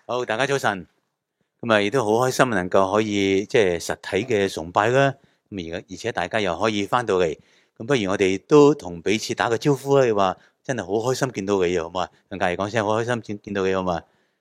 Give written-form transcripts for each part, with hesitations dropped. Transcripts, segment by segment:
好，大家早晨。咁啊，亦都好開心能夠可以即係實體嘅崇拜啦。咁而且大家又可以翻到嚟，咁不如我哋都同彼此打個招呼啦。你話真係好開心見到你啊，好嘛？同隔籬講聲好開心見到你，好嘛？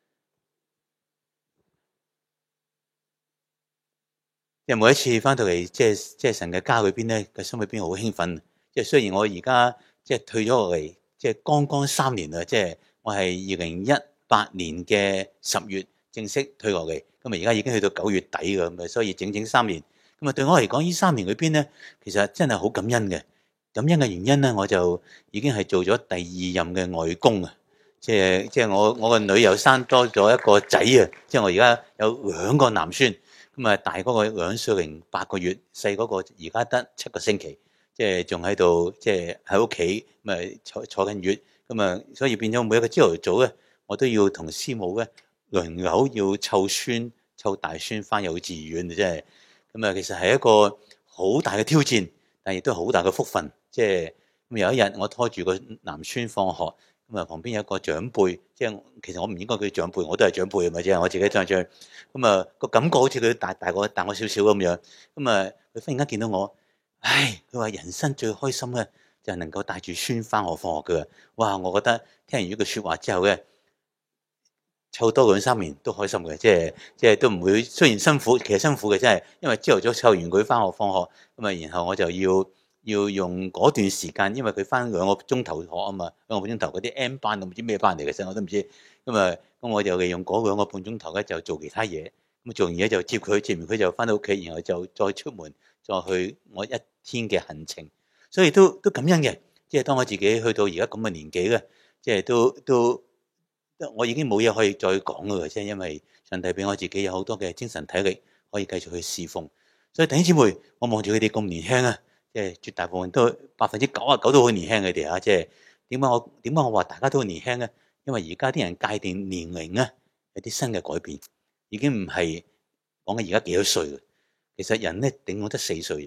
即係每一次翻到嚟，即係神嘅家裏邊咧，個心裏邊好興奮。即係雖然我而家即係退咗落嚟，即係剛剛3年啦。即係我係2018年嘅10月正式退落嚟，咁啊而家已經去到9月底㗎，咁啊所以整整3年。咁啊對我嚟講，呢3年裏邊咧，其實真係好感恩嘅。感恩嘅原因咧，我就已經係做咗第2任嘅外公啊。即係我個女又生多咗一個仔啊！即係我而家有2個男孫。咁啊，大嗰個2歲零8個月，細嗰個而家得7個星期，即係仲喺度，即係喺屋企咁啊坐緊月，咁啊，所以變咗每一個朝頭早咧，我都要同師母咧輪流要湊大孫翻幼稚園啊！即係咁啊，其實係一個好大嘅挑戰，但亦都好大嘅福分。即係咁有一日，我拖住個男孫放學，咁啊旁邊有一個長輩，即係其實我唔應該叫長輩，我都係長輩啊嘛，即係我自己長輩。咁啊個感覺好似佢大我少少咁樣。咁啊佢忽然間見到我，佢話人生最開心咧就係能夠帶住孫翻學放學嘅。哇！我覺得聽完呢句説話之後咧，湊多2-3年都開心嘅，即係都唔會。雖然辛苦，其實辛苦嘅真係，因為朝頭早湊完佢翻學放學，咁啊然後我就要用嗰段時間，因為佢翻2個鐘頭學啊嘛，2個半鐘頭嗰啲 M 班，我唔知咩班嚟嘅，真我都唔知。咁我就利用嗰2個半鐘頭咧就做其他嘢。咁做完嘢就接完佢就翻到屋企，然後就再出門再去我一天嘅行程。所以都感恩嘅。即係當我自己去到而家咁嘅年紀咧，即係都我已經冇嘢可以再講㗎，即係因為上帝俾我自己有好多嘅精神體力，可以繼續去侍奉。所以弟兄姊妹，我望住佢哋咁年輕啊，即係絕大部分都99%都好年輕，佢哋啊，即係點解我話大家都好年輕咧？因為而家啲人界定年齡啊，有啲新嘅改變，已經唔係講緊而家幾多歲嘅。其實人咧頂多得4歲嘅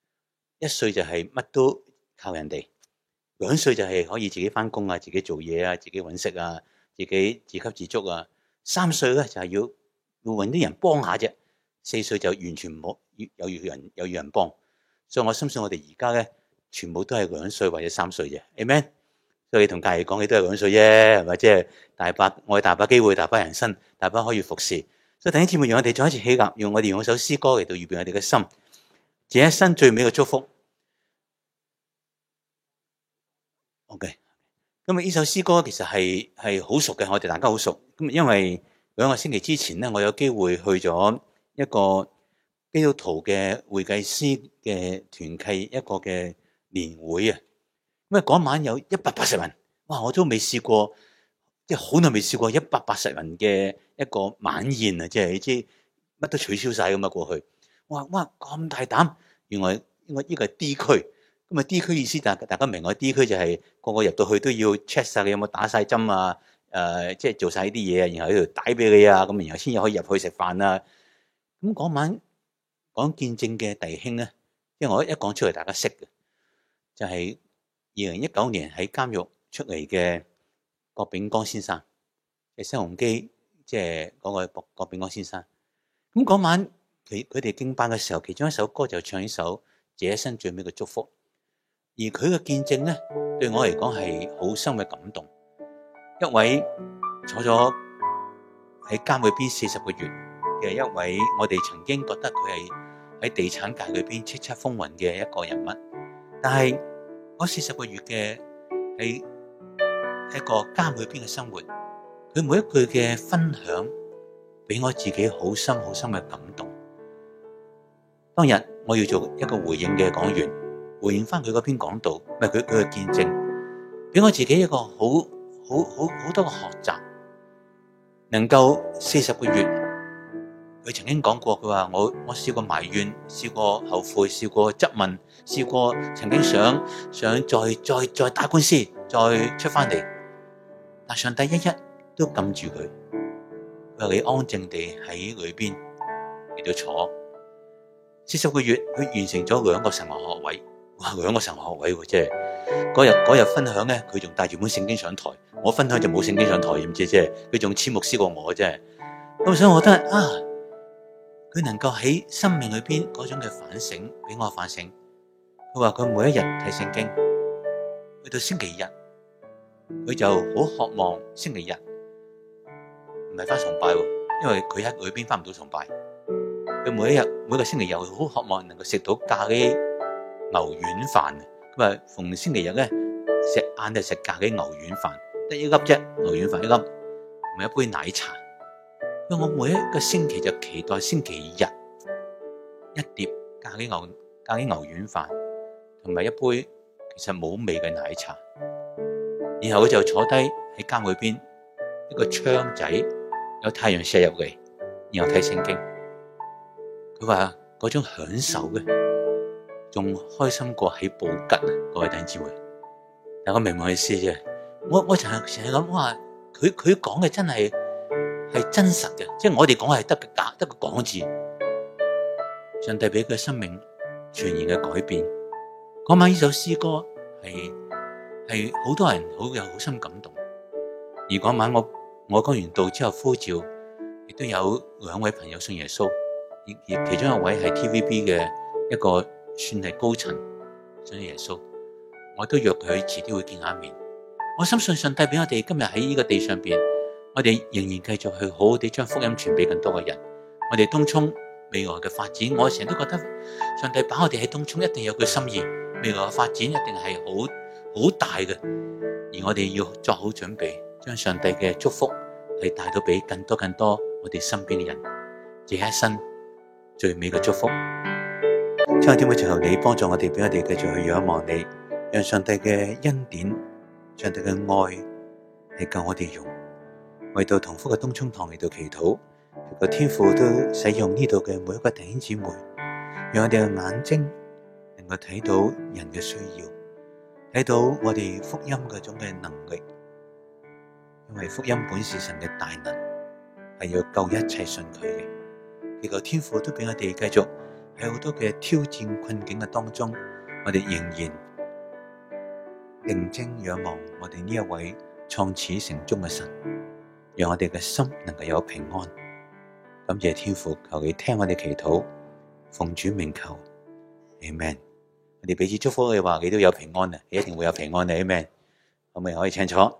，1歲就係乜都靠人哋，2歲就係可以自己翻工啊，自己做嘢啊，自己揾食啊。自己自給自足啊！3歲咧就係要揾啲人幫下啫。4歲就完全唔好有人幫。所以我深信我哋而家咧全部都係2歲或者3歲啫。Amen。所以你同隔離講嘅都係2歲啫，係咪？即係我哋大把機會，大把人生，大把可以服侍。所以弟兄姊妹，讓我哋再一次起立，用我哋用一首詩歌嚟到預備我哋嘅心，這一生最美嘅祝福。OK。咁呢首詩歌其實係好熟嘅，我哋大家好熟。咁因為2個星期之前咧，我有機會去咗一個基督徒嘅會計師嘅團契一個嘅年會啊。咁嗰晚有180人，哇！我都未試過，即係好耐未試過180人嘅一個晚宴啊！即係你知乜都取消晒咁啊過去。哇！咁大膽，原來呢個係 D 區。咁啊 D 區意思，大家明我 D 區就係個個入到去都要 check 晒你有冇打晒針啊，即係做晒呢啲嘢啊，然後喺度帶俾你啊，咁然後先至可以入去食飯啊。咁嗰晚講見證嘅弟兄咧，因為我一講出嚟大家識嘅，就係2019年喺監獄出嚟嘅郭炳江先生嘅新鴻基，即係嗰個郭炳江先生。咁嗰晚佢哋敬拜嘅時候，其中一首歌就唱呢首這一生最美嘅祝福。而佢嘅見證咧，對我嚟講係好深嘅感動。一位坐咗喺監裏邊40個月嘅一位，我哋曾經覺得佢係喺地產界裏邊叱咤風雲嘅一個人物，但係嗰40個月嘅喺一個監裏邊嘅生活，佢每一句嘅分享，俾我自己好深好深嘅感動。當日我要做一個回應嘅講員。回應翻佢嗰篇講道，唔係佢嘅見證，俾我自己一個好多嘅學習。能夠40個月，佢曾經講過，佢話我試過埋怨，試過後悔，試過質問，試過曾經想再打官司，再出翻嚟，但上帝一都撳住佢。佢話你安靜地喺裏邊嚟到坐40個月，佢完成咗2個神學學位。哇！2個神學學位喎，即係嗰日分享咧，佢仲帶住本聖經上台。我分享就冇聖經上台，唔知即係佢仲黐牧師過我，真係咁所以我覺得佢能夠喺生命裏邊嗰種嘅反省，俾我反省。佢話佢每一日睇聖經，去到星期日，佢就好渴望星期日唔係返崇拜，因為佢喺裏邊返唔到崇拜。佢每個星期日好渴望能夠食到咖喱牛丸飯。佢話逢星期日咧食晏就食咖喱牛丸飯，得一粒啫，牛丸飯一粒，同埋一杯奶茶。因為我每一個星期就期待星期日一碟咖喱牛丸飯，同埋一杯其實冇味嘅奶茶。然後佢就坐低喺監裏邊一個窗仔，有太陽射入嚟，然後睇聖經。佢話嗰種享受嘅，仲開心過喺寶吉啊！各位弟兄姊妹，但我明唔明意思啫？我成日諗話，佢講嘅真係真實嘅，即係我哋講係得個假，得個講字。上帝俾佢生命全然嘅改變。嗰晚呢首詩歌係好多人好深感動。而嗰晚我講完道之後呼召，亦都有2位朋友信耶穌。而其中一位係 TVB 嘅一個算係高層信耶穌，我都約佢遲啲會見下面。我深信上帝俾我哋今日喺呢個地上邊，我哋仍然繼續去好好地將福音傳俾更多嘅人。我哋東涌未來嘅發展，我成日都覺得上帝把我哋喺東涌一定有佢心意，未來嘅發展一定係好大嘅。而我哋要作好準備，將上帝嘅祝福係帶到俾更多我哋身邊嘅人，這一生最美嘅祝福。親愛的姊妹，求你幫助我哋，俾我哋繼續去仰望你，讓上帝嘅恩典、上帝嘅愛係夠我哋用。為到同福嘅東涌堂嚟到祈禱，個天父都使用呢度嘅每一個弟兄姊妹，讓我哋嘅眼睛能夠睇到人嘅需要，睇到我哋福音嗰種嘅能力。因為福音本是神嘅大能，係要救一切信佢嘅。祈求天父都俾我哋繼續喺好多嘅挑戰困境嘅當中，我哋仍然定睛仰望我哋呢一位創始成終嘅神，讓我哋嘅心能夠有平安。感謝天父，求你聽我哋祈禱，奉主名求 Amen。 我哋彼此祝福嘅話，你都有平安啊，你一定會有平安啊 Amen。 可唔可以請坐？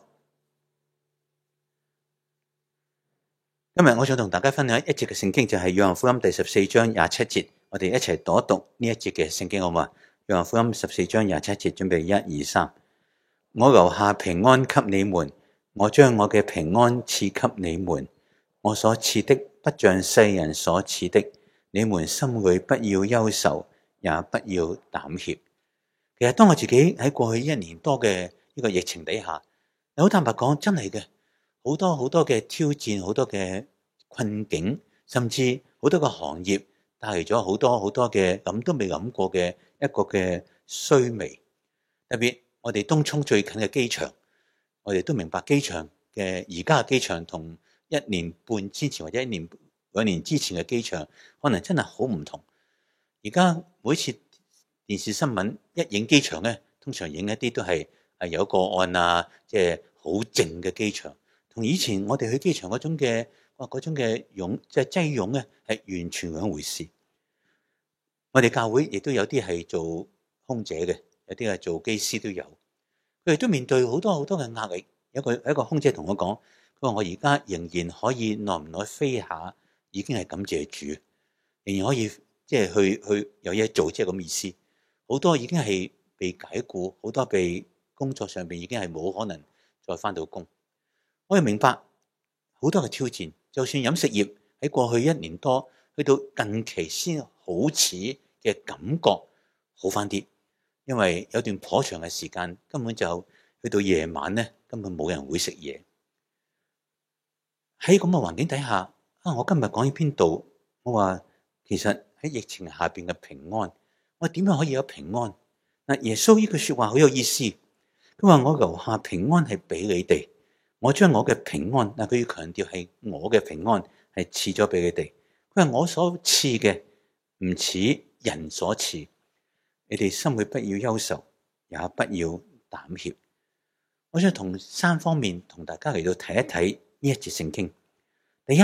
今日我想同大家分享一節嘅聖經，就係約翰福音第14章27節，我哋一齊讀一讀呢一節嘅聖經好嗎？約翰福音14章27節，準備1、2、3。我留下平安給你們，我將我嘅平安賜給你們，我所賜的不像世人所賜的，你們心裏不要憂愁，也不要膽怯。其實當我自己喺過去1年多嘅呢個疫情底下，好坦白講，真係嘅。好多嘅挑戰，好多嘅困境，甚至好多個行業帶嚟咗好多嘅諗都未諗過嘅一個嘅衰微。特別我哋東涌最近嘅機場，我哋都明白機場嘅而家嘅機場同1年半之前或者1年2年之前嘅機場，可能真係好唔同。而家每次電視新聞一影機場咧，通常影一啲都係有個案啊，即係好靜嘅機場。同以前我哋去機場嗰種嘅擁即係擠擁咧，係完全兩回事。我哋教會亦都有啲係做空姐嘅，有啲係做機師都有。佢哋都面對好多嘅壓力。有一個空姐同我講，佢話我而家仍然可以耐唔耐飛下，已經係感謝主，仍然可以即係去有嘢做，即係咁意思。好多已經係被解僱，好多被工作上邊已經係冇可能再返到工。我哋明白好多嘅挑戰，就算飲食業喺過去1年多，去到近期先好似嘅感覺好返啲，因為有段頗長嘅時間根本就去到夜晚咧，根本冇人會食嘢。喺咁嘅環境底下，我今日講呢篇道，我話其實喺疫情下邊嘅平安，我點樣可以有平安？嗱，耶穌呢句說話好有意思，佢話我留下平安係俾你哋。我將我嘅平安，嗱，佢要強調係我嘅平安係賜咗俾你哋。佢話我所賜嘅唔似人所賜，你哋心裏不要憂愁，也不要膽怯。我想從3方面同大家嚟到睇一睇呢一節聖經。第一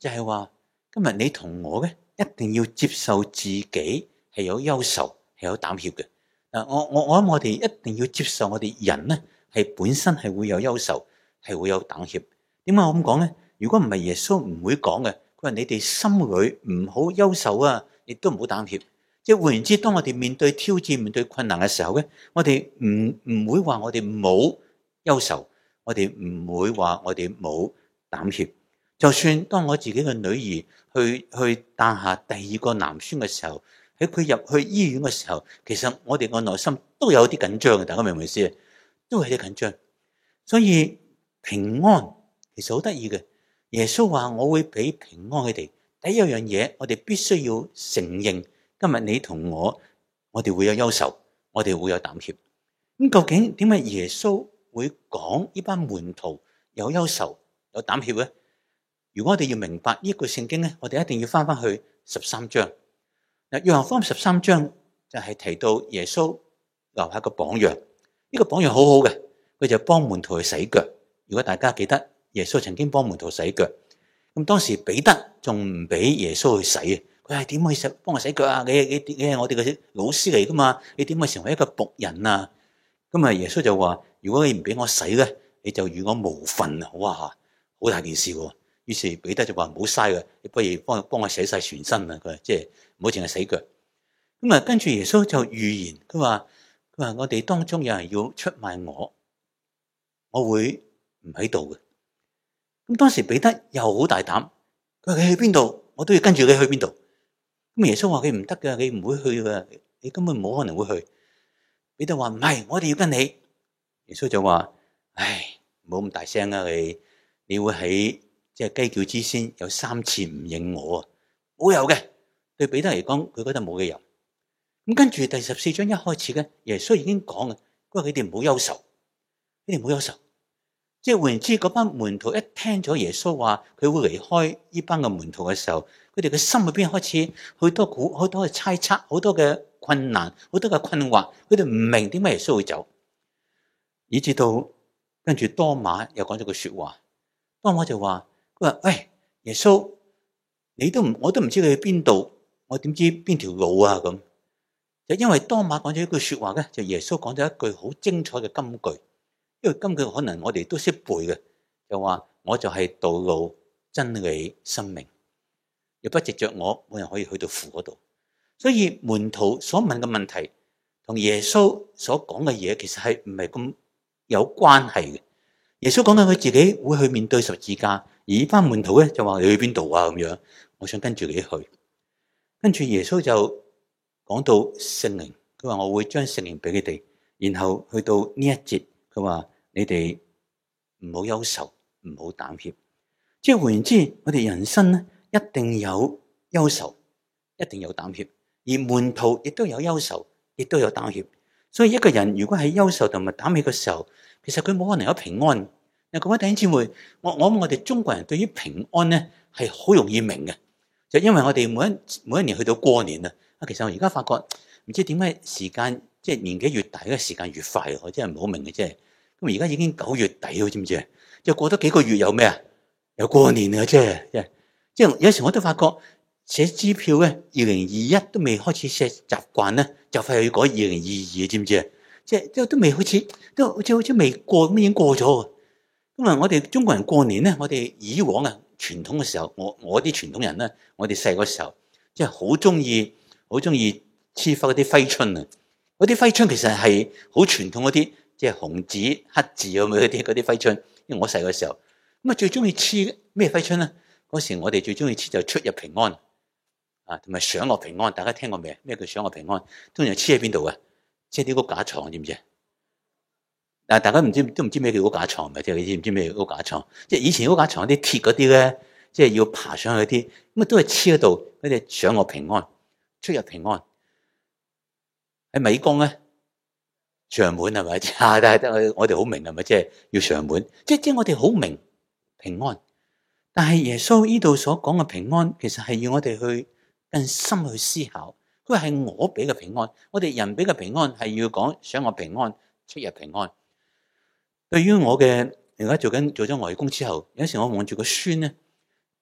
就係話今日你同我咧，一定要接受自己係有憂愁，係有膽怯嘅。我諗我哋一定要接受我哋人咧係本身係會有憂愁，係會有膽怯。點解我咁講咧？如果唔係耶穌唔會講嘅，佢話你哋心裏唔好憂愁啊，亦都唔好膽怯。即係換言之，當我哋面對挑戰、面對困難嘅時候咧，我哋唔會話我哋冇憂愁，我哋唔會話我哋冇膽怯。就算當我自己嘅女兒去誕下第二個男孫嘅時候，喺佢入去醫院嘅時候，其實我哋個內心都有啲緊張嘅，大家明唔明意思？都係啲緊張。所以平安其實好得意嘅，耶穌話我會俾平安佢哋。第一樣嘢，我哋必須要承認，今日你同我哋會有憂愁，我哋會有膽怯。咁究竟點解耶穌會講呢班門徒有憂愁、有膽怯咧？如果我哋要明白呢句聖經咧，我哋一定要翻去13章。嗱，約翰福音13章就係提到耶穌留下個榜樣，呢個榜樣好好嘅，佢就幫門徒去洗腳。如果大家記得，耶穌曾經幫門徒洗腳，咁當時彼得仲唔俾耶穌去洗啊？佢係點可以幫我洗腳啊？你係我哋嘅老師嚟噶嘛？你點可以成為一個僕人啊？咁啊，耶穌就話：如果你唔俾我洗咧，你就與我無份啊！哇，好大件事喎！於是彼得就話：唔好嘥嘅，你不如幫我洗晒全身啊！佢即係唔好淨係洗腳。咁啊，跟住耶穌就預言，佢話我哋當中有人要出賣我會唔喺度嘅。咁當時彼得又好大膽，佢話：你去邊度，我都要跟住你去邊度。咁耶穌話：佢唔得嘅，你唔會去嘅，你根本冇可能會去。彼得話：唔係，我哋要跟你。耶穌就話：唉，唔好咁大聲啊！你會喺即係雞叫之先有3次唔認我啊！冇有嘅，對彼得嚟講，佢覺得冇理由。咁跟住第14章一開始嘅，耶穌已經講嘅，佢話佢哋唔好憂愁，你哋唔好憂愁。即係換言之，嗰班門徒一聽咗耶穌話佢會離開呢班嘅門徒嘅時候，佢哋嘅心裏邊開始好多嘅猜測，好多嘅困難，好多嘅困惑，佢哋唔明點解耶穌會走，以至到跟住多馬又講咗句說話，多馬就話：佢話喂，耶穌，我都唔知你去邊度，我點知邊條路啊？咁就因為多馬講咗一句說話咧，就耶穌講咗一句好精彩嘅金句。因為根據可能我哋都識背嘅，就話我就係道路、真理、生命，若不藉着我，冇人可以去到父嗰度。所以門徒所問嘅問題，同耶穌所講嘅嘢，其實係唔係咁有關係嘅。耶穌講緊佢自己會去面對十字架，而呢班門徒咧就話：你去邊度啊？咁樣，我想跟住你去。跟住耶穌就講到聖靈，佢話我會將聖靈俾你哋，然後去到呢一節，佢話。你哋唔好憂愁，唔好膽怯。即係換言之，我哋人生咧一定有憂愁，一定有膽怯。而門徒亦都有憂愁，亦都有膽怯。所以一個人如果喺憂愁同埋膽怯嘅時候，其實佢冇可能有平安。嗱，各位弟兄姊妹，我諗我哋中國人對於平安咧係好容易明嘅，就因為我哋每一年去到過年啊，其實我而家發覺唔知點解時間即係年紀越大嘅時間越快，我真係唔好明嘅啫。咁而家已經9月底，知唔知啊？就過多幾個月有咩啊？有過年啊！即係有時我都發覺寫支票咧，2021都未開始寫習慣咧，就快要改2022，知唔知啊？即係都未開始，都好似未過咁已經過咗。咁啊，我哋中國人過年咧，我哋以往啊傳統嘅時候，我啲傳統人咧，我哋細個時候即係好中意黐翻嗰啲揮春啊！嗰啲揮春其實係好傳統嗰啲。即係紅字黑字咁樣嗰啲揮春，因為我細個時候咁啊，最中意黐咩揮春咧？嗰時我哋最中意黐就出入平安啊，同埋上落平安。大家聽過未？咩叫上落平安？通常黐喺邊度啊？黐啲屋架床，知唔知？但係大家都唔知咩叫屋架床，咪即係你知唔知咩叫屋架床？即係以前屋架床啲鐵嗰啲咧，即係要爬上去啲，咁啊都係黐喺度，嗰啲上落平安、出入平安。喺米缸咧。上門係咪？但係我哋好明係咪？即係要上門，即係我哋好明平安。但係耶穌呢度所講嘅平安，其實係要我哋去更深去思考。佢係我俾嘅平安，我哋人俾嘅平安係要講上落平安、出入平安。對於我嘅而家做咗外公之後，有時我望住個孫咧，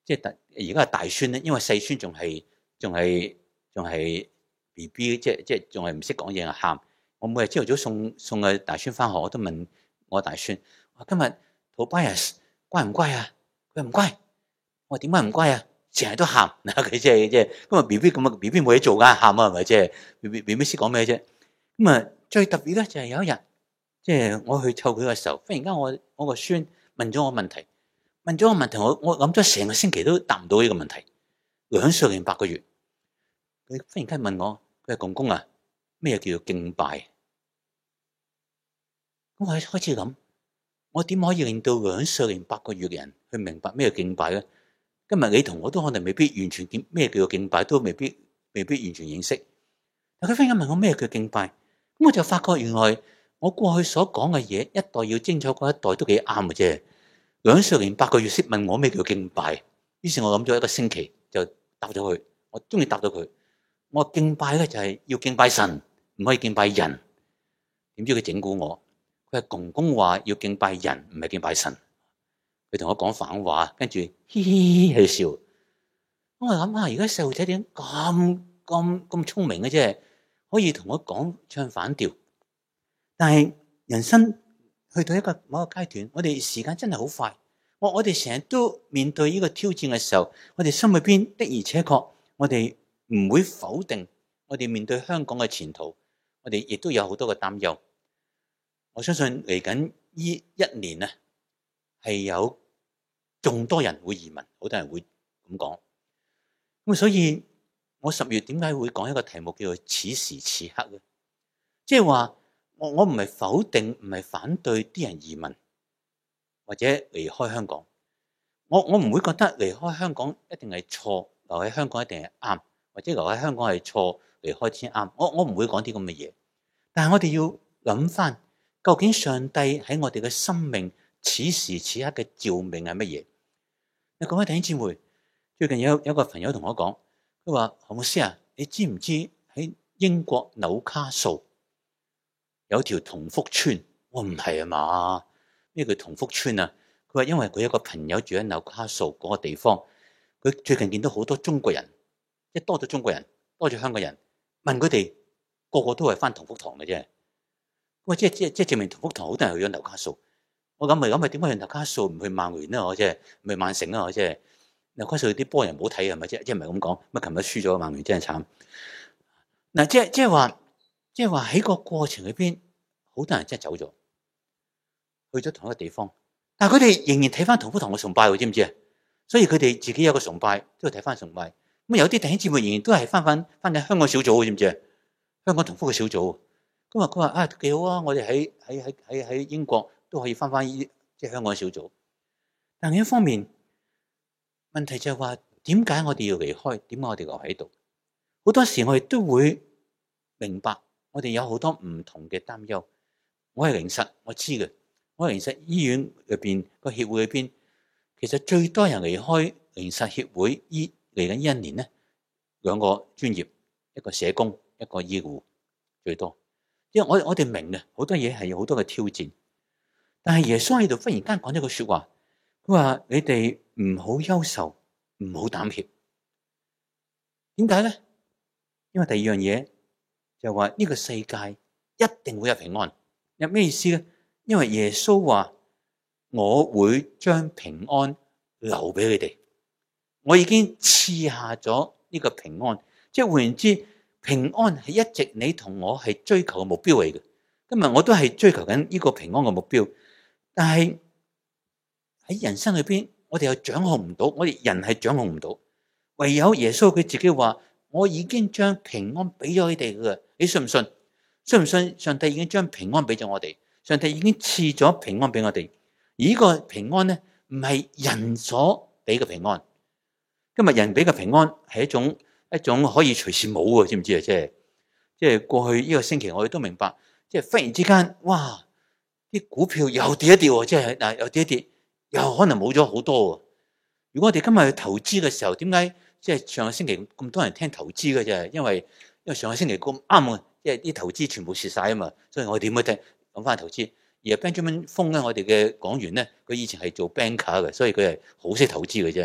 即係而家係大孫咧，因為細孫仲係 BB， 即係仲係唔識講嘢啊，喊。我每日朝頭早送個大孫翻學，我都問我大孫：我今日 Tobias 乖唔乖啊？佢唔乖。我話點解唔乖啊？成日都喊嗱，佢即係咁啊 BB 咁啊 BB 冇嘢做㗎，喊啊係咪即係 BB 識講咩啫？咁啊最特別咧就係有一日，即係我去湊佢嘅時候，忽然間我個孫問咗我問題，我諗咗成個星期都答唔到呢個問題。2歲零8個月，佢忽然間問我：佢話公公啊，咩叫做敬拜？咁我開始諗，我點可以令到2歲零8個月嘅人去明白咩叫敬拜咧？今日你同我都可能未必完全咩叫做敬拜，都未必完全認識。但佢忽然間問我咩叫敬拜，咁我就發覺原來我過去所講嘅嘢，一代要精彩過一代都幾啱嘅啫。2歲零8個月識問我咩叫敬拜，於是我諗咗一個星期就答咗佢。我終於答咗佢，我話敬拜咧就係要敬拜神，唔可以敬拜人。點知佢整蠱我，佢話公公話要敬拜人，唔係敬拜神。佢同我講反話，跟住嘻嘻喺度笑。我諗下，而家細路仔點咁聰明嘅啫，可以同我講唱反調。但係人生去到某一個階段，我哋時間真係好快。我哋成日都面對呢個挑戰嘅時候，我哋心裏邊的而且確，我哋唔會否定我哋面對香港嘅前途，我哋亦都有好多嘅擔憂。我相信嚟緊呢1年啊，係有眾多人會移民，好多人會咁講。咁所以我10月點解會講一個題目叫做此時此刻咧？即係話我唔係否定，唔係反對啲人移民或者離開香港。我唔會覺得離開香港一定係錯，留喺香港一定係啱，或者留喺香港係錯，離開先啱。我唔會講啲咁嘅嘢。但係我哋要諗翻，究竟上帝喺我哋嘅生命此時此刻嘅召命係乜嘢？各位弟兄姊妹，最近有個朋友同我講，佢話何牧師啊，你知唔知喺英國紐卡素有條同福村？我唔係啊嘛，咩叫同福村啊？佢話因為佢有個朋友住喺紐卡素嗰個地方，佢最近見到好多中國人，即係多咗中國人，多咗香港人，問佢哋個個都係返同福堂嘅啫。喂，即係證明同福堂好多人去咗紐卡素。我諗咪點解去紐卡素唔去曼聯咧？我即係唔去曼城啦？我即係紐卡素啲波人唔好睇係咪啫？即係唔係咁講？乜琴日輸咗曼聯真係慘。嗱，即係話喺個過程裏邊，好多人真係走咗，去咗同一個地方，但係佢哋仍然睇翻同福堂嘅崇拜，知唔知啊？所以佢哋自己有個崇拜，都要睇翻崇拜。咁有啲弟兄姊妹仍然都係翻緊香港小組，知唔知啊？香港同福嘅小組。咁佢話啊幾好啊！我哋喺英國都可以翻即係香港小組。但另一方面，問題就係話點解我哋要離開？點解我哋留喺度？好多時我哋都會明白，我哋有好多唔同嘅擔憂。我係靈實，我知嘅。我係靈實醫院入邊個協會裏邊，其實最多人離開靈實協會嚟緊呢1年咧，2個專業，一個社工，一個醫護，最多。因為我哋明嘅好多嘢係有好多嘅挑戰，但係耶穌喺度忽然間講咗句說話，佢話你哋唔好憂愁，唔好膽怯。點解咧？因為第二樣嘢就話呢個世界一定會有平安。有咩意思咧？因為耶穌話我會將平安留俾你哋，我已經賜下咗呢個平安，即係換言之。平安係一直你同我係追求嘅目標嚟嘅。今日我都係追求緊呢個平安嘅目標，但係喺人生裏邊，我哋又掌控唔到，我哋人係掌控唔到。唯有耶穌佢自己話：我已經將平安俾咗你哋嘅，你信唔信？信唔信？上帝已經將平安俾咗我哋，上帝已經賜咗平安俾我哋。而呢個平安咧，唔係人所俾嘅平安。今日人俾嘅平安係一種可以隨時冇嘅，知唔知啊？即係過去呢個星期，我哋都明白，即係忽然之間，哇！啲股票又跌一跌，即係嗱又跌一跌，又可能冇咗好多。如果我哋今日去投資嘅時候，點解即係上個星期咁多人聽投資嘅啫？因為上個星期咁啱啊，即係啲投資全部蝕晒啊嘛，所以我哋點去聽講翻投資？而 Benjamin Fung 咧，我哋嘅講員咧，佢以前係做 banker 嘅，所以佢係好識投資嘅啫。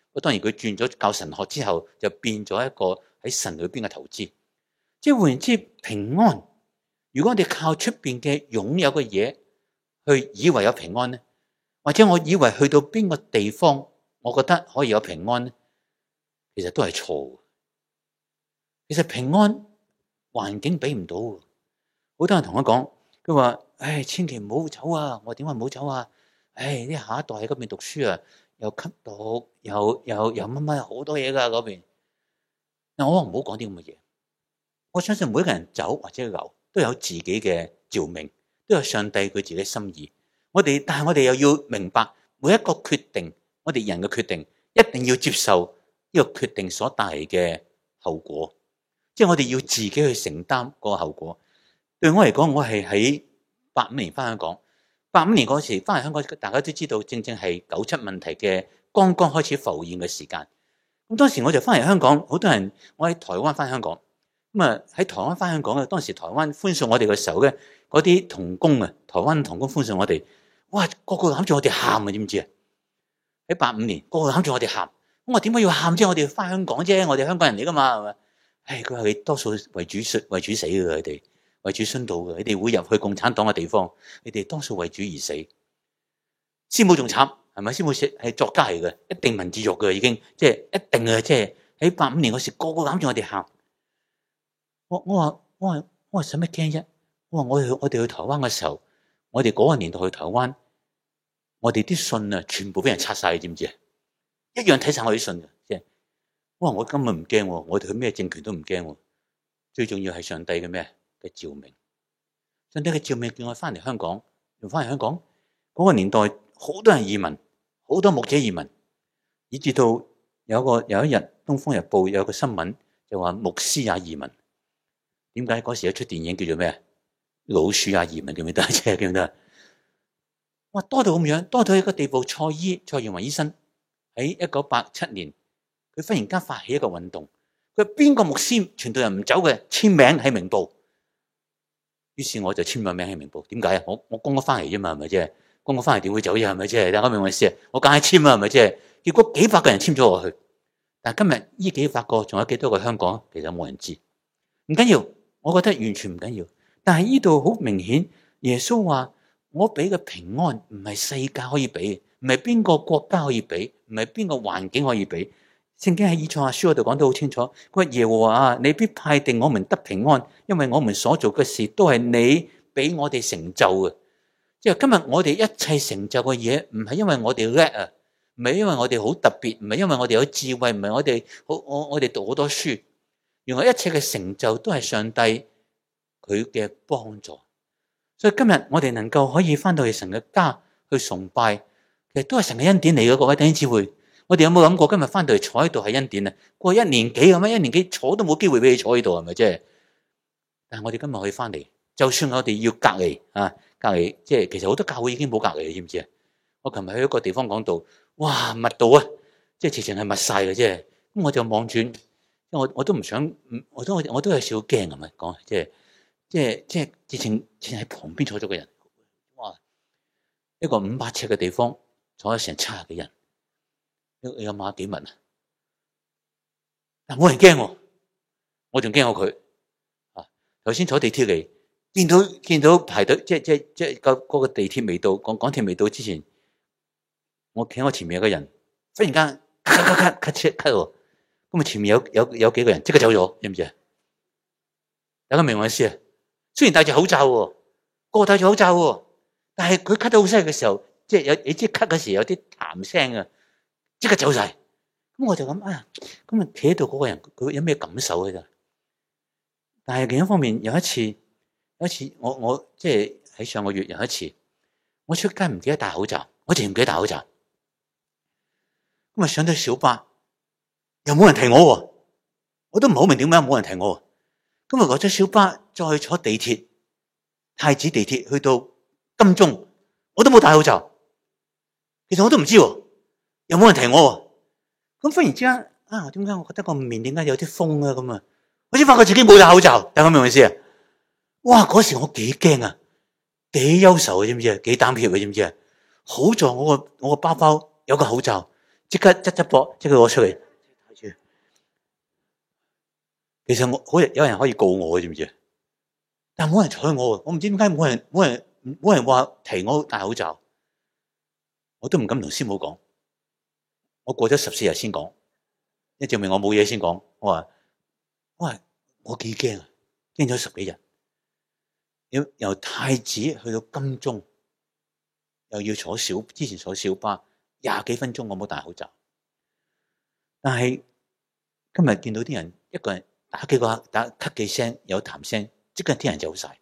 當然佢轉咗教神學之後，就變咗一個喺神裏邊嘅投資。即係換言之，平安，如果我哋靠出邊嘅擁有嘅嘢去以為有平安咧，或者我以為去到邊個地方，我覺得可以有平安咧，其實都係錯。其實平安環境俾唔到。好多人同我講，佢話：唉，千祈唔好走啊！我點解唔好走啊？唉，啲下一代喺嗰邊讀書啊，又吸毒，又乜乜好多嘢㗎嗰邊。嗱，我話唔好講啲咁嘅嘢。我相信每一個人走或者留都有自己嘅召命，都有上帝佢自己嘅心意。但係我哋又要明白每一個決定，我哋人嘅決定一定要接受呢個決定所帶嚟嘅後果。即係我哋要自己去承擔嗰個後果。對我嚟講，我係喺85年翻香港。85年嗰時翻嚟香港，大家都知道，正正係97問題嘅剛剛開始浮現嘅時間。咁當時我就翻嚟香港，好多人我喺台灣翻香港。咁啊喺台灣翻香港嘅，當時台灣歡送我哋嘅時候咧，嗰啲同工啊，台灣同工歡送我哋，哇，個個攬住我哋喊啊，知唔知啊？喺85年，個個攬住我哋喊。我話點解要喊啫？我哋翻香港啫，我哋香港人嚟噶嘛，係咪？唉，佢話你多數為主死嘅，佢哋為主殉道嘅，你哋會入去共產黨嘅地方，你哋多數為主而死。師母仲慘，係咪？師母係作家嚟嘅，一定文字獄嘅已經，即係一定嘅，即係喺85年嗰時，個個攬住我哋喊。我話使乜驚啫？我話我哋去台灣嘅時候，我哋嗰個年代去台灣，我哋啲信啊，全部俾人拆晒，知唔知啊？一樣睇晒我啲信嘅，即係我話我根本唔驚，我哋去咩政權都唔驚。最重要係上帝嘅咩嘅召命，上帝嘅召命叫我翻嚟香港，又翻嚟香港。嗰個年代好多人移民，好多牧者移民，以至到有一日《東方日報》有個新聞就話牧師也移民。點解嗰時有出電影叫做咩？老鼠也移民，記唔記得？記唔記得？哇，多到咁樣，多到一個地步。蔡元雲醫生喺1987年，佢忽然間發起一個運動，佢邊個牧師傳道人唔走嘅，簽名喺明報。於是我就簽咗名喺明報。點解啊？我公咗翻嚟啫嘛，係咪啫？公咗翻嚟點會走啫？係咪啫？大家明我意思啊？我梗係簽啊，係咪啫？結果幾百個人簽咗我去，但係今日呢幾百個，仲有幾多個香港？其實冇人知，唔緊要。我覺得完全唔緊要，但係呢度好明顯，耶穌話我俾嘅平安唔係世界可以俾，唔係邊個國家可以俾，唔係邊個環境可以俾。聖經喺以賽亞書嗰度講得好清楚，佢話耶和華啊，你必派定我們得平安，因為我們所做嘅事都係你俾我哋成就嘅。即係今日我哋一切成就嘅嘢，唔係因為我哋叻啊，唔係因為我哋好特別，唔係因為我哋有智慧，唔係我哋讀好多書。原來一切嘅成就都係上帝佢嘅幫助，所以今日我哋能夠可以翻到去神嘅家去崇拜，其實都係神嘅恩典嚟嘅。各位弟兄姊妹，我哋有冇諗過今日翻到嚟坐喺度係恩典啊？過去1年幾咁樣，1年幾坐都冇機會俾你坐喺度，係咪啫？但係我哋今日可以翻嚟，就算我哋要隔離啊，隔離即係其實好多教會已經冇隔離，你知唔知啊？我琴日去一個地方講道，哇，密到啊，即係直情係密晒嘅啫。咁我就望住。我都唔想，我都有少少驚咁樣講，即係直情喺旁邊坐咗個人，哇！一個500尺嘅地方坐咗成70幾人，你有馬幾密啊？但冇人驚喎，我仲驚過佢啊！頭先坐地鐵嚟，見到排隊，即係嗰個地鐵未到，港鐵未到之前，我企喺我前面有個人，忽然間咳喎。咁啊！前面有幾個人即刻走咗，知唔知啊？大家明我意思啊？雖然戴住口罩喎，個個戴住口罩喎，但係佢咳到好犀利嘅時候，即係你知咳嘅時候有啲痰聲啊，即刻走晒。咁我就諗啊，咁啊企喺度嗰個人佢有咩感受嘅咋？但係另一方面，有一次我即係喺上個月有一次，我出街唔記得戴口罩，我淨係唔記得戴口罩。咁啊上到小巴。又冇人提我，我都唔好明點解冇人提我。今日落咗小巴，再坐地鐵，太子地鐵去到金鐘，我都冇戴口罩。其實我都唔知，又冇人提我。咁忽然之間啊，點解我覺得個面點解有啲風啊咁啊？我先發覺自己冇戴口罩，大家明唔明意思啊？哇！嗰時我幾驚啊，幾憂愁啊，知唔知啊？幾膽怯啊，知唔知啊？好在我個包包有個口罩。 即刻執波，即刻攞出嚟。其實有人可以告我，知唔知？但冇人睬我，我唔知點解冇人話提我戴口罩，我都唔敢同師母講。我過咗14日先講，一證明我冇嘢先講。我話我幾驚啊，驚咗10幾日。由太子去到金鐘，又要之前坐小巴20幾分鐘，我冇戴口罩。但係今日見到啲人一個人打咳幾聲，有痰聲，即刻啲人走晒。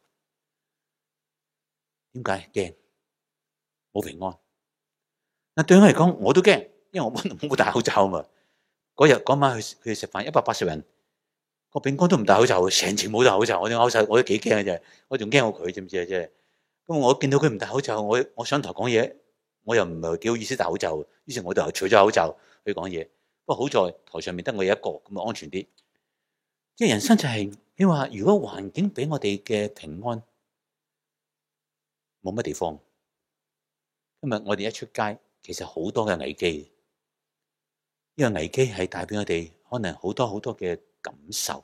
點解？驚冇平安。嗱，對我嚟講，我都驚，因為我冇戴口罩啊嘛。嗰晚去食飯，180人，個餅乾都唔戴口罩，成程冇戴口罩。我都幾驚嘅啫，我仲驚過佢，知唔知啊？即係咁，我見到佢唔戴口罩，我上台講嘢，我又唔係幾好意思戴口罩，於是我就除咗口罩去講嘢。不過好在台上面得我一個，咁啊安全啲。即係人生就係你話，如果環境俾我哋嘅平安，冇乜地方。今日我哋一出街，其實好多嘅危機。呢個危機係帶俾我哋可能好多好多嘅感受。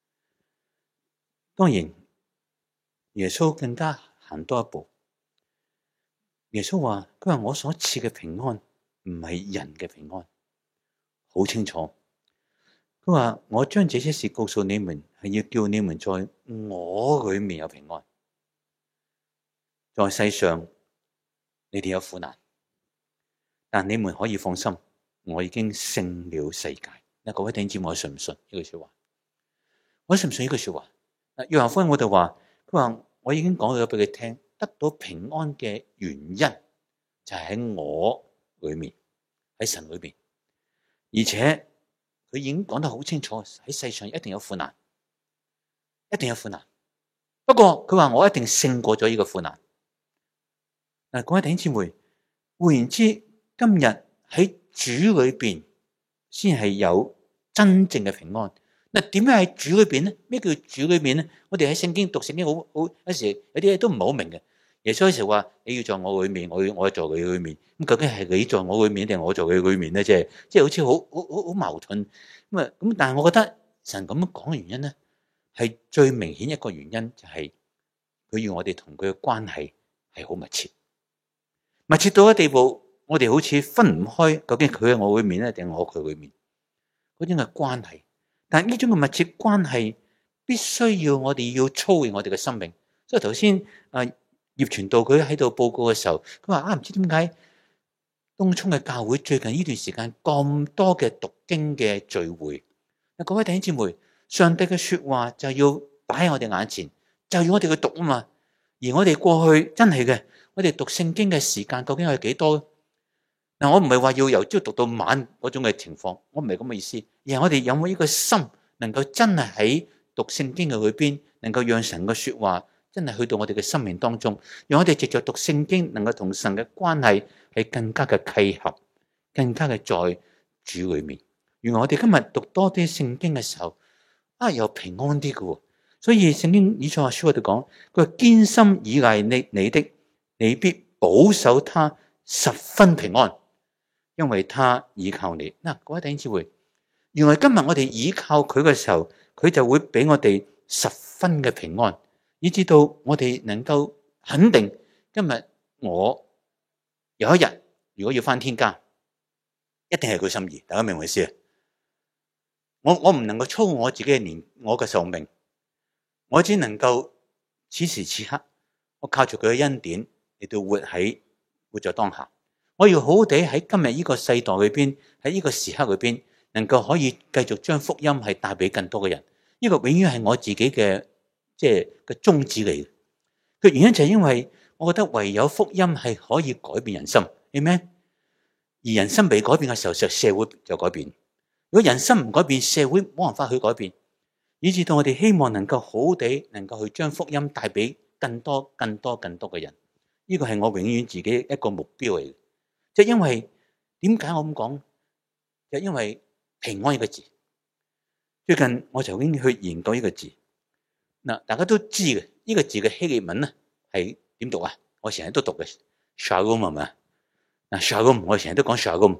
當然，耶穌更加行多一步。耶穌話：佢話我所賜嘅平安唔係人嘅平安，好清楚。佢話我將這些事告訴你們，係要叫你們在我裏面有平安。在世上你哋有苦難，但你們可以放心，我已經勝了世界。嗱，各位弟兄姊妹，我信唔信呢句說話？我信唔信呢句說話？約翰福音我就話，佢話我已經講咗俾佢聽，得到平安嘅原因就係喺我裏面，喺神裏面，而且佢已經講得好清楚，喺世上一定有苦難，一定有苦難。不過佢話我一定勝過咗呢個苦難。嗱，各位弟兄姊妹，換言之，今日喺主裏邊先係有真正嘅平安。嗱，點解喺主裏邊咧？咩叫主裏邊咧？我哋喺聖經讀聖經好有時有啲嘢都唔係好明嘅。耶穌有時話你要在我裏面，我在你裏面。咁究竟係你在我裏面定係我在你裏面咧？即係好似好矛盾咁。但係我覺得神咁樣講嘅原因咧，係最明顯一個原因就係佢要我哋同佢嘅關係係好密切。密切到一地步，我哋好似分唔開，究竟佢喺我裏面咧，定我佢裏面？嗰種嘅關係，但係呢種嘅密切關係，必須要我哋要操練我哋嘅生命。所以頭先葉傳道佢喺度報告嘅時候，佢話唔知點解東涌嘅教會最近呢段時間咁多嘅讀經嘅聚會。各位弟兄姊妹，上帝嘅說話就要擺喺我哋眼前，就要我哋去讀啊嘛。而我哋過去真係嘅。我哋讀聖經嘅時間究竟係幾多？嗱，我唔係話要由朝讀到晚嗰種嘅情況，我唔係咁嘅意思。而係我哋有冇呢個心，能夠真係喺讀聖經嘅裏邊，能夠讓神嘅說話真係去到我哋嘅生命當中，讓我哋藉着讀聖經，能夠同神嘅關係係更加嘅契合，更加嘅在主裏面。原來我哋今日讀多啲聖經嘅時候，又平安啲嘅。所以聖經以賽亞書我哋講，佢話堅心倚賴你的，你必保守他十分平安，因為他倚靠你。嗱，各位弟兄姊妹，原來今日我哋倚靠佢嘅時候，佢就會俾我哋十分嘅平安，以至到我哋能夠肯定，今日我有一日如果要返天家，一定係佢心意。大家明唔明意思啊？我唔能夠操我自己嘅我嘅壽命，我只能夠此時此刻，我靠住佢嘅恩典。嚟到活在當下，我要好好地喺今日呢個世代裏邊，喺呢個時刻裏邊，能夠可以繼續將福音係帶俾更多嘅人。呢個永遠係我自己嘅宗旨嚟嘅。個原因就係因為我覺得唯有福音係可以改變人心，係咪？而人心未改變嘅時候，社會就改變。如果人心唔改變，社會冇辦法去改變。以至到我哋希望能夠好好地能夠去將福音帶俾更多嘅人。呢個係我永遠自己一個目標嚟嘅，即係因為點解我咁講？就因為平安呢個字，最近我就已經去研究呢個字。嗱，大家都知嘅，呢個字嘅希臘文咧係點讀啊？我成日都讀嘅 shalom 係咪？嗱 shalom 我成日都講 shalom，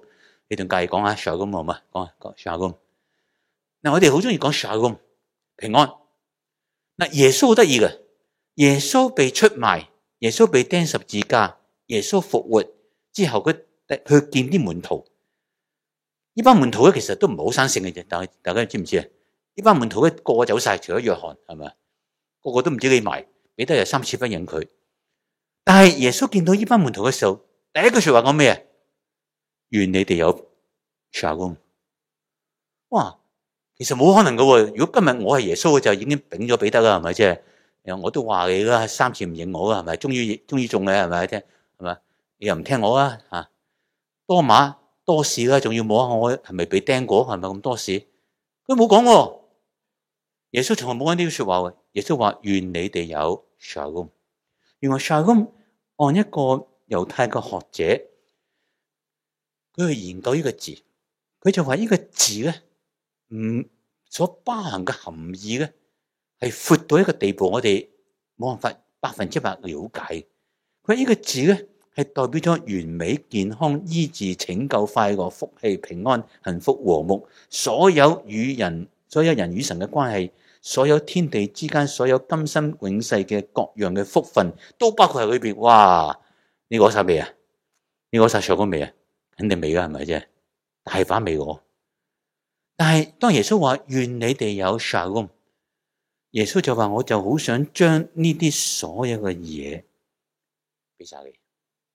你仲介意講下 Shalom 好嘛？講 Shalom。嗱，我哋好中意講 Shalom 平安。嗱，耶穌好得意嘅，耶穌被出賣，耶穌被釘十字架，耶穌復活之後，佢去見啲門徒。呢班門徒咧，其實都唔係好生性嘅啫。但係大家知唔知啊？呢班門徒咧，個個走晒，除咗約翰，係咪？個個都唔知幾埋，彼得又3次不認佢。但係耶穌見到呢班門徒嘅時候，第一句說話講咩啊？願你哋有 Shalom。哇，其實冇可能嘅。如果今日我係耶穌，就已經丙咗彼得啦，係咪啫？我都話你啦，3次唔認我啦，係咪？終於中嘅，係咪？聽係咪？你又唔聽我啊？吓，多馬多事啦，仲要摸下我係咪被釘過？係咪咁多事？佢冇講。耶穌從來冇講呢啲說話。耶穌話願你哋有 Shalom。原來 Shalom 按一個猶太嘅學者，佢去研究呢個字，佢就話呢個字咧，所包含嘅含義咧，係闊到一個地步，我哋冇辦法100%了解。佢呢個字咧，係代表咗完美、健康、醫治、拯救、快樂、福氣、平安、幸福、和睦，所有人與神嘅關係，所有天地之間，所有今生永世嘅各樣嘅福分，都包括喺裏邊。哇！你攞晒未啊？你攞晒上嗰未啊？肯定未啦，係咪啫？大把未攞。但係當耶穌話願你哋有 Shalom，耶穌就話我就好想將呢啲所有嘅嘢俾晒你。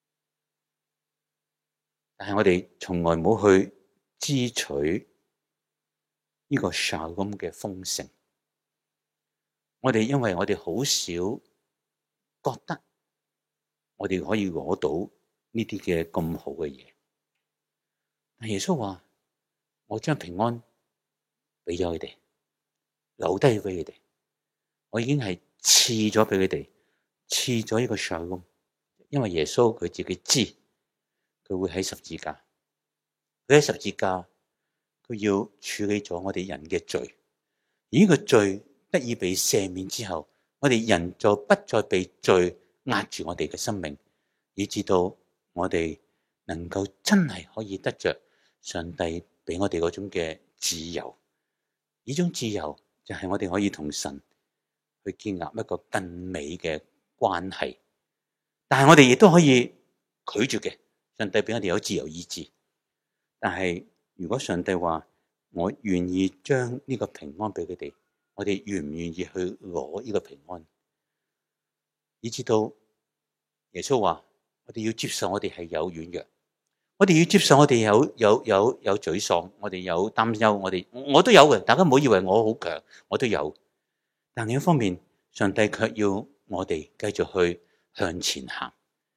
但係我哋從來冇去支取呢個 Shalom 嘅豐盛。我哋因為我哋好少覺得我哋可以攞到呢啲嘅咁好嘅嘢。但耶穌話我將平安俾咗佢哋，留低俾佢哋。我已經係賜咗俾佢哋，賜咗呢個 Shalom。因為耶穌佢自己知，佢會喺十字架，佢喺十字架，佢要處理咗我哋人嘅罪。而呢個罪得以被赦免之後，我哋人就不再被罪壓住我哋嘅生命，以至到我哋能夠真係可以得着上帝俾我哋嗰種嘅自由。呢種自由就係我哋可以同神去建立一個更美嘅關係。但係我哋亦都可以拒絕嘅，上帝俾我哋有自由意志。但係如果上帝話我願意將呢個平安俾佢哋，我哋願唔願意去攞呢個平安？以至到耶穌話我哋要接受我哋係有軟弱，我哋要接受我哋有沮喪，我哋有擔憂，我都有嘅。大家唔好以為我好強，我都有。但另一方面，上帝卻要我哋繼續去向前行。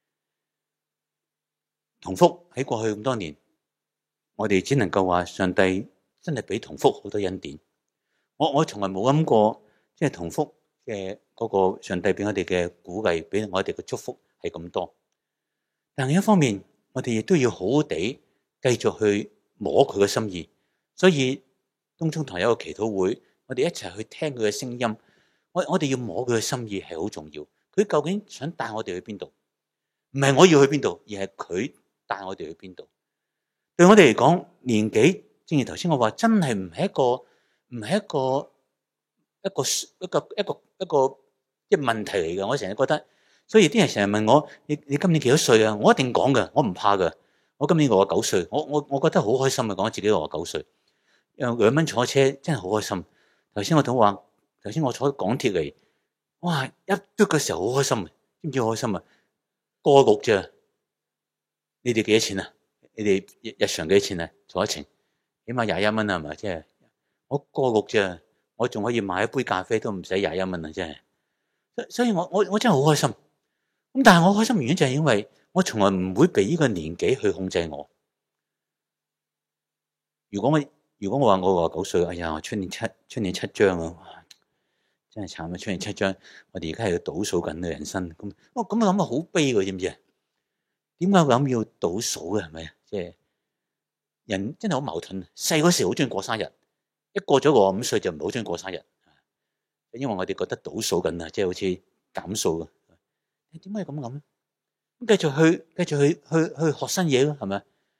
同福喺過去咁多年，我哋只能夠話上帝真係俾同福好多恩典。我從來冇諗過，即係同福嘅嗰個上帝俾我哋嘅鼓勵，俾我哋嘅祝福係咁多。但另一方面，我哋亦都要好好地繼續去摸佢嘅心意。所以東涌堂有一個祈禱會，我哋一齊去聽佢嘅聲音。我哋要摸佢嘅心意係好重要。佢究竟想帶我哋去邊度？唔係我要去邊度，而係佢帶我哋去邊度。對我哋嚟講，年紀正如頭先我話，真係唔係一個即係問題嚟嘅。我成日覺得，所以啲人成日問我：你今年幾多歲啊？我一定講嘅，我唔怕嘅。我今年69歲，我覺得好開心啊！講自己69歲，2蚊坐車真係好開心。頭先我坐港鐵嚟，哇！一嘟嘅時候好開心，知唔知好開心啊？過6咋？你哋幾多錢啊？你哋日常幾多錢啊？坐一程，起碼21蚊啊，係咪？即係我過6咋，我仲可以買一杯咖啡都唔使21蚊啊！真係，所以我真係好開心。咁但係我開心原因就係因為我從來唔會被呢個年紀去控制我。如果我話我69歲，哎呀，出年7張啊，真係慘啊！出年7張，我哋而家係要倒數緊嘅人生。咁我諗好悲嘅，知唔知啊？點解我諗要倒數嘅？係咪啊？即係人真係好矛盾。細嗰時好中意過生日，一過咗65歲就唔好中意過生日，因為我哋覺得倒數緊啊，即係好似減數嘅。點解咁諗咧？咁繼續去學新嘢咯，係咪？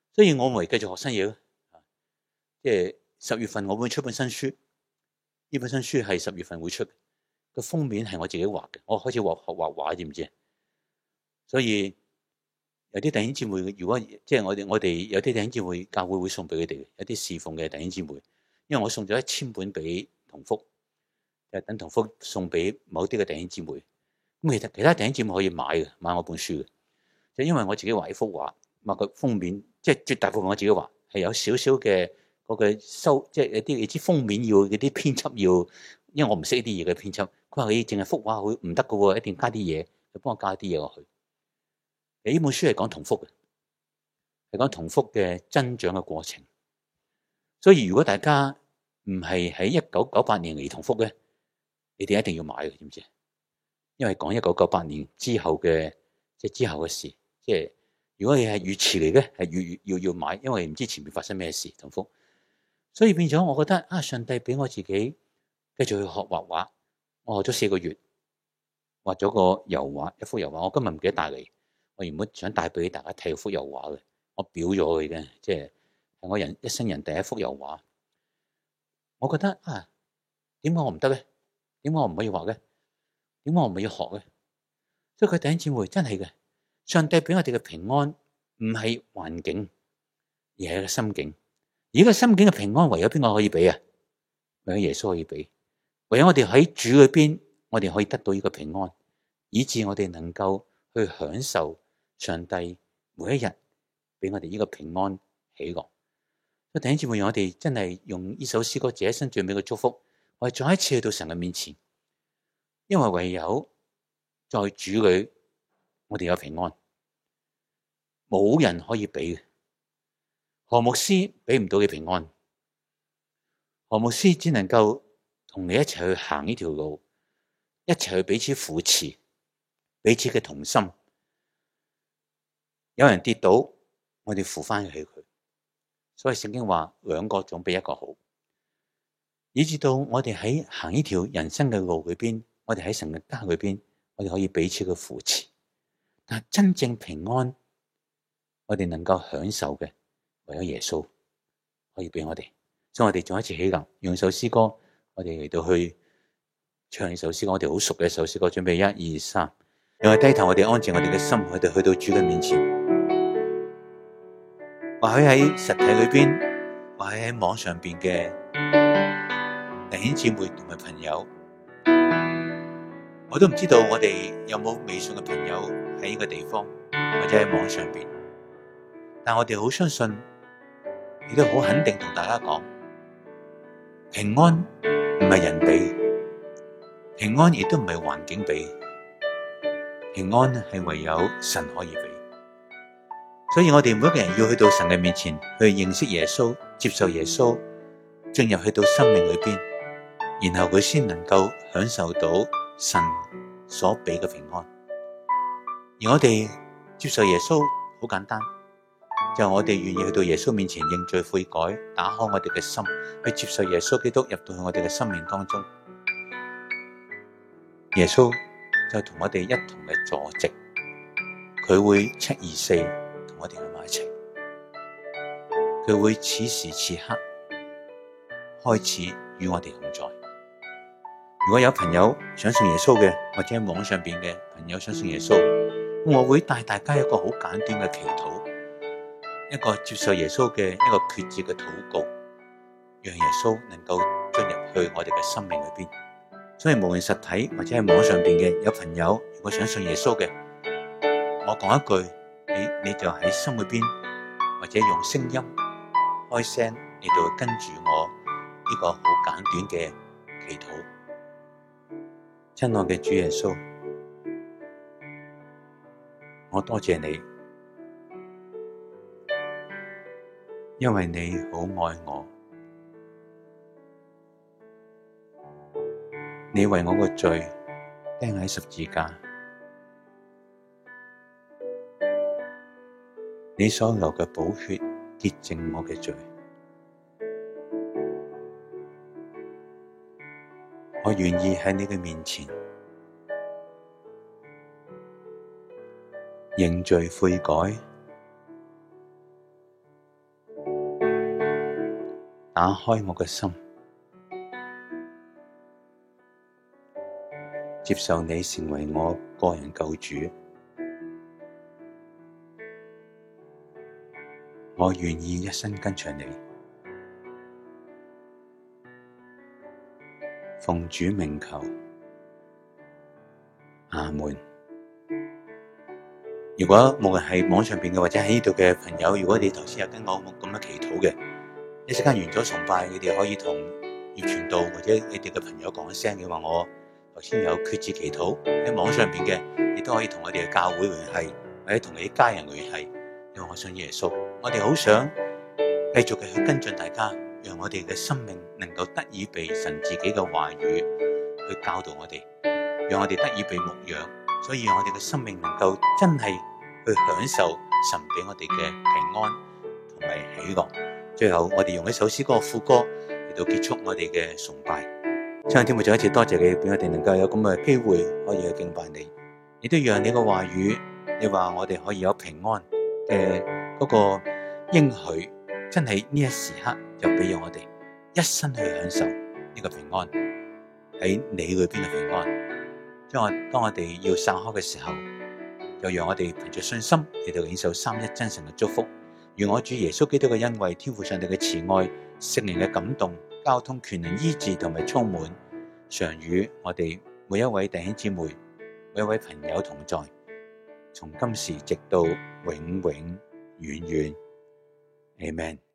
所以我咪繼續學新嘢咯。即係10月份我會出本新書，呢本新書係10月份會出，個封面係我自己畫嘅。我開始學畫畫，知唔知？所以有啲弟兄姊妹，如果即係我哋有啲弟兄姊妹教會送俾佢哋，有啲侍奉嘅弟兄姊妹，因為我送咗1000本俾同福，就等同福送俾某啲嘅弟兄姊妹。咁其他弟兄姊妹可以買我本書嘅，就因為我自己畫一幅畫，畫個封面，即係絕大部分我自己畫，係有少少嘅嗰個即係有啲你知封面要嗰啲編輯要，因為我唔識呢啲嘢嘅編輯，佢話你淨係幅畫會唔得㗎喎，一定加啲嘢，就幫我加啲嘢落去。呢本書係講同福嘅，係講同福嘅增長嘅過程。所以如果大家唔係喺1998年嚟同福嘅，你哋一定要買嘅，知唔知？因為講1998年之後嘅，即係之後嘅事。即係如果你係越遲嚟嘅，係越要買，因為唔知前面發生咩事同福。所以變咗，我覺得上帝俾我自己繼續去學畫畫。我學咗4個月，畫咗個油畫，一幅油畫。我今日唔記得帶嚟，我原本想帶俾大家睇幅油畫嘅，我裱咗佢嘅，即係我一生人第一幅油畫。我覺得點解我唔得咧？點解我唔可以畫咧？點解我唔可以學咧？所以佢弟兄姊妹真係嘅，上帝俾我哋嘅平安唔係環境，而係個心境。而個心境嘅平安，唯有邊個可以俾啊？唯有耶穌可以俾。唯有我哋喺主裏邊，我哋可以得到呢個平安，以致我哋能夠去享受上帝每一日俾我哋呢個平安喜樂。所以弟兄姊妹，讓我哋真係用呢首詩歌，這一生最美嘅祝福，我哋再一次去到神嘅面前，因為唯有在主裏，我哋有平安，冇人可以俾嘅。何牧師俾唔到你平安，何牧師只能夠同你一齊去行呢條路，一齊去彼此扶持，彼此嘅同心。有人跌倒，我哋扶翻起佢。所以聖經話2個總比1個好，以至到我哋喺行呢條人生嘅路裏邊，我哋喺神嘅家裏邊，我哋可以彼此嘅扶持。但係真正平安，我哋能夠享受嘅，唯有耶穌可以俾我哋。所以我哋再一次起立，用首詩歌，我哋嚟到去唱呢首詩歌，我哋好熟嘅一首詩歌。準備1、2、3，讓我哋低頭，我哋安靜我哋嘅心，我哋去到主嘅面前。或許喺實體裏邊，或許喺網上邊嘅弟兄姊妹同埋朋友，我都唔知道我哋有冇微信嘅朋友喺呢個地方，或者喺網上邊。但我哋好相信，亦都好肯定同大家講，平安唔係人俾，平安亦都唔係環境俾，平安係唯有神可以俾。所以我哋每一個人要去到神嘅面前，去認識耶穌，接受耶穌，進入去到生命裏邊，然後佢先能夠享受到神所俾嘅平安。而我哋接受耶穌好簡單，就係我哋願意去到耶穌面前認罪悔改，打開我哋嘅心，去接受耶穌基督入到去我哋嘅生命當中。耶穌就同我哋一同嘅坐席，佢會724同我哋喺埋一齊，佢會此時此刻開始與我哋同在。如果有朋友想信耶穌嘅，或者喺網上邊嘅朋友想信耶穌，我會帶大家一個好簡短嘅祈禱，一個接受耶穌嘅一個決志嘅禱告，讓耶穌能夠進入去我哋嘅生命裏邊。所以無論實體或者係網上邊嘅有朋友，如果想信耶穌嘅，我講一句，你就喺心裏邊，或者用聲音開聲嚟到跟住我呢個好簡短嘅祈禱。親愛嘅主耶穌，我多謝你，因為你好愛我，你為我個罪釘喺十字架，你所流嘅寶血潔淨我嘅罪。我願意喺你嘅面前認罪悔改， 打開我嘅心，接受你成為我個人救主。我願意一生跟隨你。奉主名求，阿門。如果無論係網上邊嘅或者喺呢度嘅朋友，如果你頭先有跟我咁樣祈禱嘅，一陣間完咗崇拜，你哋可以同葉傳道或者你哋嘅朋友講一聲嘅話，我頭先有決志祈禱。喺網上邊嘅，你都可以同我哋嘅教會聯繫，或者同你啲家人聯繫，因為我信耶穌。我哋好想繼續嘅去跟進大家，讓我哋嘅生命能夠得以被神自己嘅話語去教導我哋，讓我哋得以被牧養，所以讓我哋嘅生命能夠真係去享受神俾我哋嘅平安同埋喜樂。最後我哋用一首詩歌副歌嚟到結束我哋嘅崇拜。親愛的天父，再一次多謝你俾我哋能夠有咁嘅機會可以去敬拜你，亦都讓你嘅話語，你話我哋可以有平安嘅嗰個應許，真係呢一時刻就俾我哋一生去享受呢個平安，喺你裏邊嘅平安。當我哋要散開嘅時候，就讓我哋憑着信心嚟到領受三一真神嘅祝福。願我主耶穌基督嘅恩惠、天父上帝嘅慈愛、聖靈嘅感動、交通、權能、醫治同埋充滿，常與我哋每一位弟兄姊妹、每一位朋友同在，從今時直到永永遠遠。Amen。